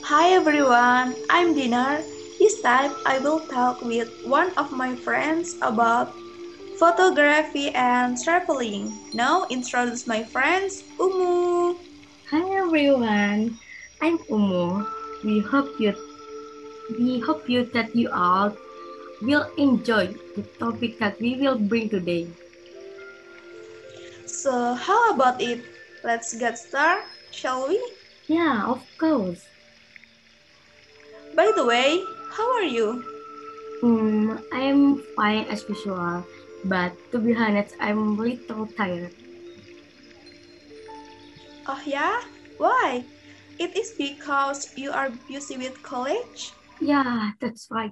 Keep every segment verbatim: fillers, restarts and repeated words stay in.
Hi everyone, I'm Dinar. This time I will talk with one of my friends about photography and traveling. Now introduce my friends, Umu. Hi everyone, I'm Umo. We hope you we hope you that you all will enjoy the topic that we will bring today. So how about it? Let's get started, shall we? Yeah, of course. By the way, how are you? Um, I'm fine as usual, but to be honest, I'm a little tired. Oh yeah? Why? It is because you are busy with college? Yeah, that's right.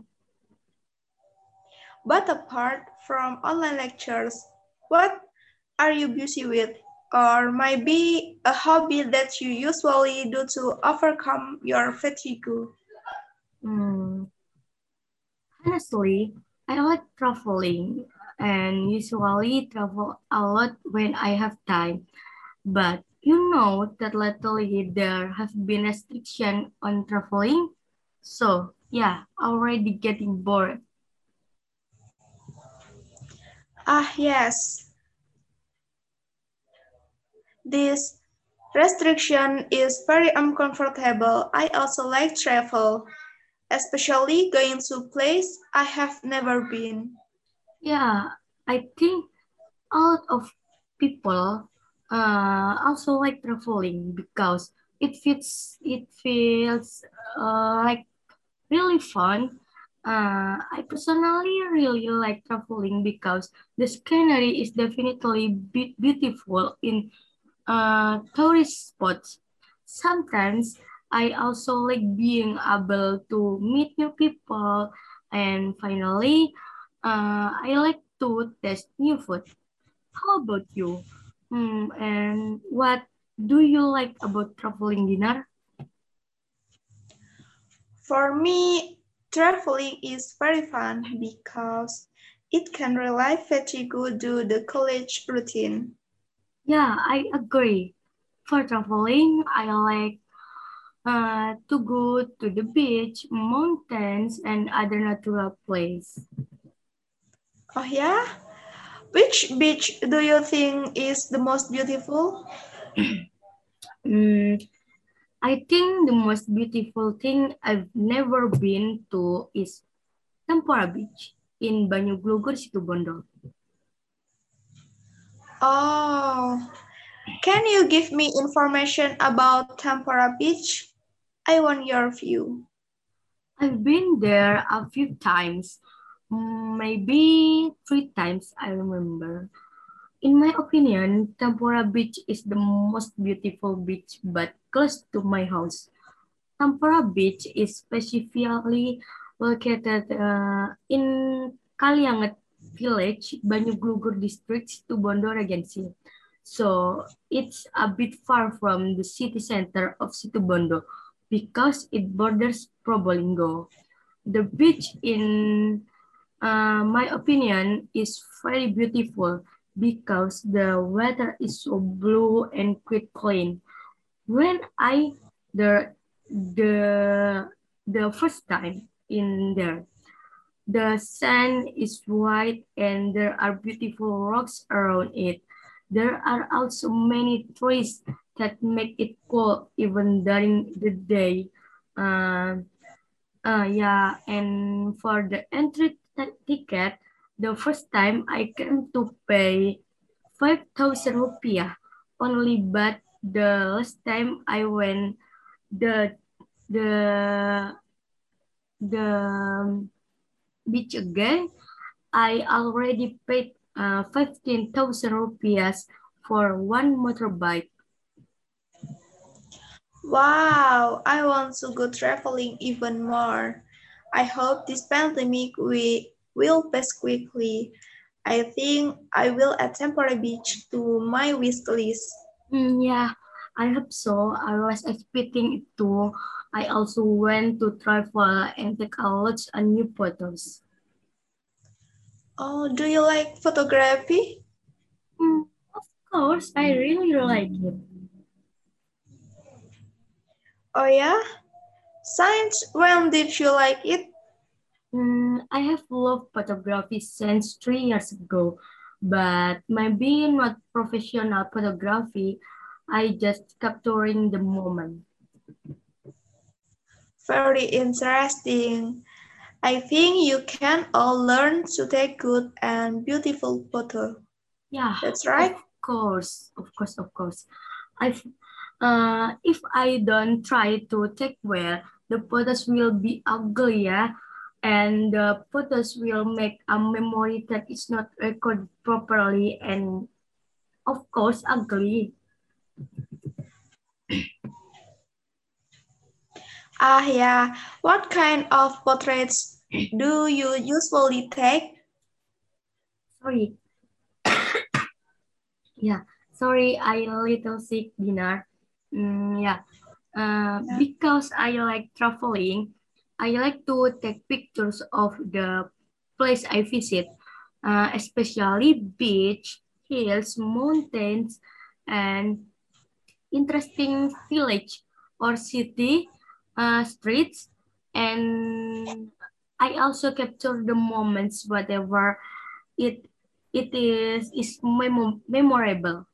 But apart from online lectures, what are you busy with? Or maybe a hobby that you usually do to overcome your fatigue? Um, Honestly, I like traveling and usually travel a lot when I have time. But you know that lately there have been restriction on traveling. So yeah, already getting bored. Ah, yes, this restriction is very uncomfortable. I also like travel, especially going to place I have never been. Yeah, I think a lot of people uh, also like traveling because it fits it feels uh, like really fun. Uh, I personally really like traveling because the scenery is definitely be- beautiful in uh, tourist spots. Sometimes I also like being able to meet new people, and finally, uh, I like to test new food. How about you? Hmm, and what do you like about traveling dinner? For me, traveling is very fun because it can relieve fatigue due the college routine. Yeah, I agree. For traveling, I like uh, to go to the beach, mountains, and other natural places. Oh yeah? Which beach do you think is the most beautiful? Mm, I think the most beautiful thing I've never been to is Tempora Beach in Banyuglugur, Situbondo. Oh, can you give me information about Tempora Beach? I want your view. I've been there a few times, mm, maybe three times, I remember. In my opinion, Tempora Beach is the most beautiful beach but close to my house. Tempora Beach is specifically located uh, in Kalianget Village, Banyuglugur District, Situbondo Regency. So it's a bit far from the city center of Situbondo because it borders Probolinggo. The beach, in uh, my opinion, is very beautiful because the water is so blue and quite clean. When I the the the first time in there, the sand is white and there are beautiful rocks around it. There are also many trees that make it cool even during the day. Uh, uh, yeah, and for the entry t- ticket, the first time I came to pay five thousand rupiah only, but the last time I went, the the the beach again, I already paid uh, fifteen thousand rupiahs for one motorbike. Wow, I want to go traveling even more. I hope this pandemic we will pass quickly. I think I will add Tempora Beach to my wish list. Mm, yeah, I hope so. I was expecting it too. I also went to travel and take a lot of new photos. Oh, do you like photography? Mm, of course, I really like it. Oh yeah? Since when did you like it? Mm, I have loved photography since three years ago, but my being not professional photography, I just capturing the moment. Very interesting. I think you can all learn to take good and beautiful photos. Yeah, That's of right. course, of course, of course. I, uh, if I don't try to take well, the photos will be ugly, yeah, and the photos will make a memory that is not recorded properly and of course ugly. Ah, yeah. What kind of portraits do you usually take? Sorry, yeah, sorry, I a little sick, Dinar. Mm, yeah, uh, Yeah. because I like traveling, I like to take pictures of the place I visit, uh, especially beach, hills, mountains, and interesting village or city uh, streets. And I also capture the moments, whatever it it is is memo- memorable.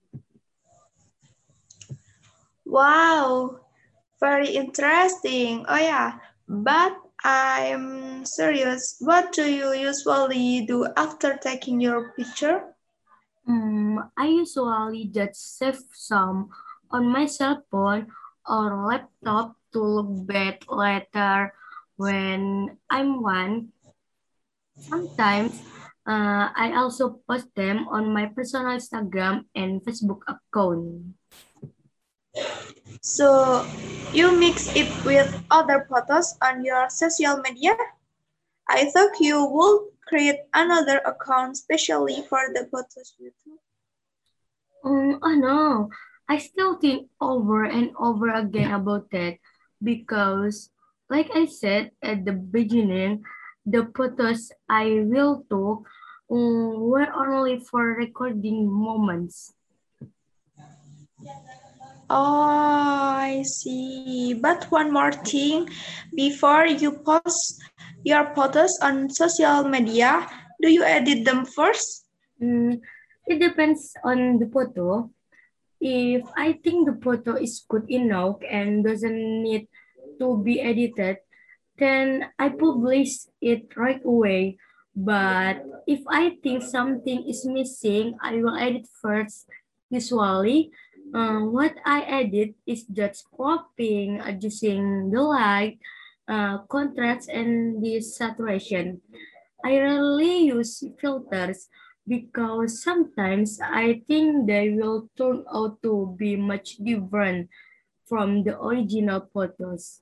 Wow, very interesting. Oh yeah, but I'm serious. What do you usually do after taking your picture? Mm, I usually just save some on my cell phone or laptop to look back later when I'm one. Sometimes uh, I also post them on my personal Instagram and Facebook account. So you mix it with other photos on your social media? I thought you would create another account specially for the photos you took. Um, oh no, I still think over and over again about that because, like I said at the beginning, the photos I will took um, were only for recording moments. Oh, I see. But one more thing, before you post your photos on social media, do you edit them first? Mm, it depends on the photo. If I think the photo is good enough and doesn't need to be edited, then I publish it right away. But if I think something is missing, I will edit first. Usually, uh, what I edit is just cropping, adjusting the light, uh, contrast, and the saturation. I rarely use filters because sometimes I think they will turn out to be much different from the original photos.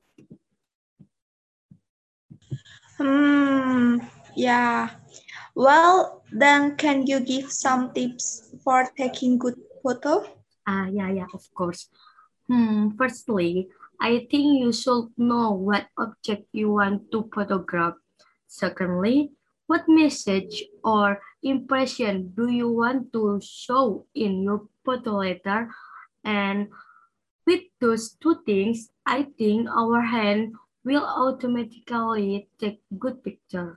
Hmm, yeah. Well, then can you give some tips for taking good photo? Ah, yeah, yeah, of course. Hmm, firstly, I think you should know what object you want to photograph. Secondly, what message or impression do you want to show in your photo letter? And with those two things, I think our hand will automatically take good picture.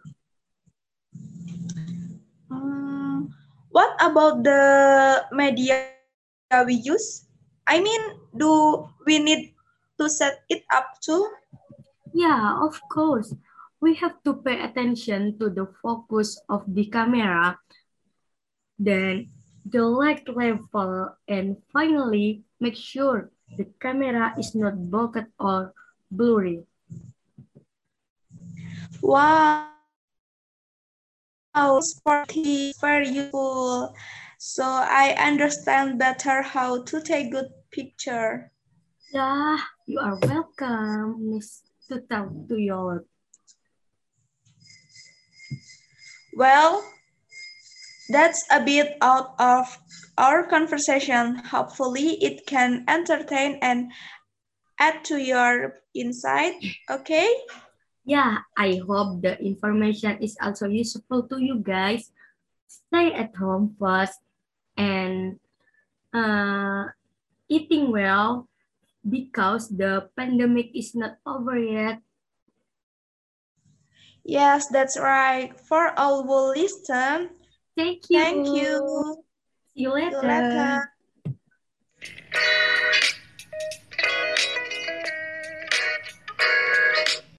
Hmm, what about the media we use? I mean, do we need to set it up too? Yeah, of course. We have to pay attention to the focus of the camera, then the light level, and finally make sure the camera is not blocked or blurry. Wow, this part is very useful. So I understand better how to take good picture. Yeah, you are welcome, Miss to talk to your. Well, that's a bit out of our conversation. Hopefully, it can entertain and add to your insight. Okay? Yeah, I hope the information is also useful to you guys. Stay at home first and uh, eating well because the pandemic is not over yet. Yes, that's right. For all who listen, Thank you. thank you. See you See you later. later.